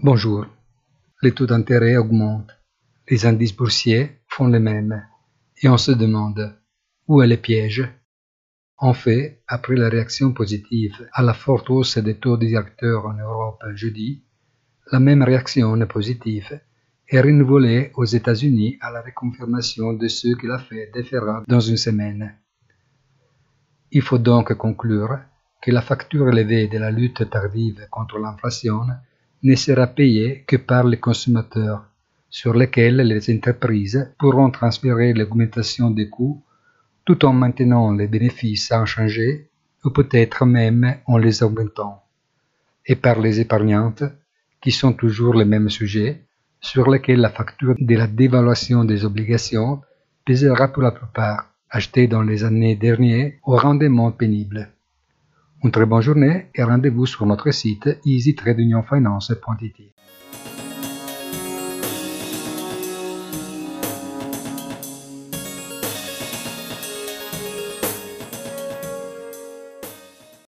Bonjour. Les taux d'intérêt augmentent, les indices boursiers font les mêmes, et on se demande où est le piège. En fait, après la réaction positive à la forte hausse des taux directeurs en Europe jeudi, la même réaction positive est renouvelée aux États-Unis à la reconfirmation de ce que la Fed fera dans une semaine. Il faut donc conclure que la facture élevée de la lutte tardive contre l'inflation ne sera payée que par les consommateurs, sur lesquels les entreprises pourront transférer l'augmentation des coûts tout en maintenant les bénéfices inchangés ou peut-être même en les augmentant, et par les épargnantes, qui sont toujours les mêmes sujets, sur lesquels la facture de la dévaluation des obligations pèsera pour la plupart, achetées dans les années dernières au rendement pénible. Une très bonne journée et rendez-vous sur notre site easytradeunionfinance.it.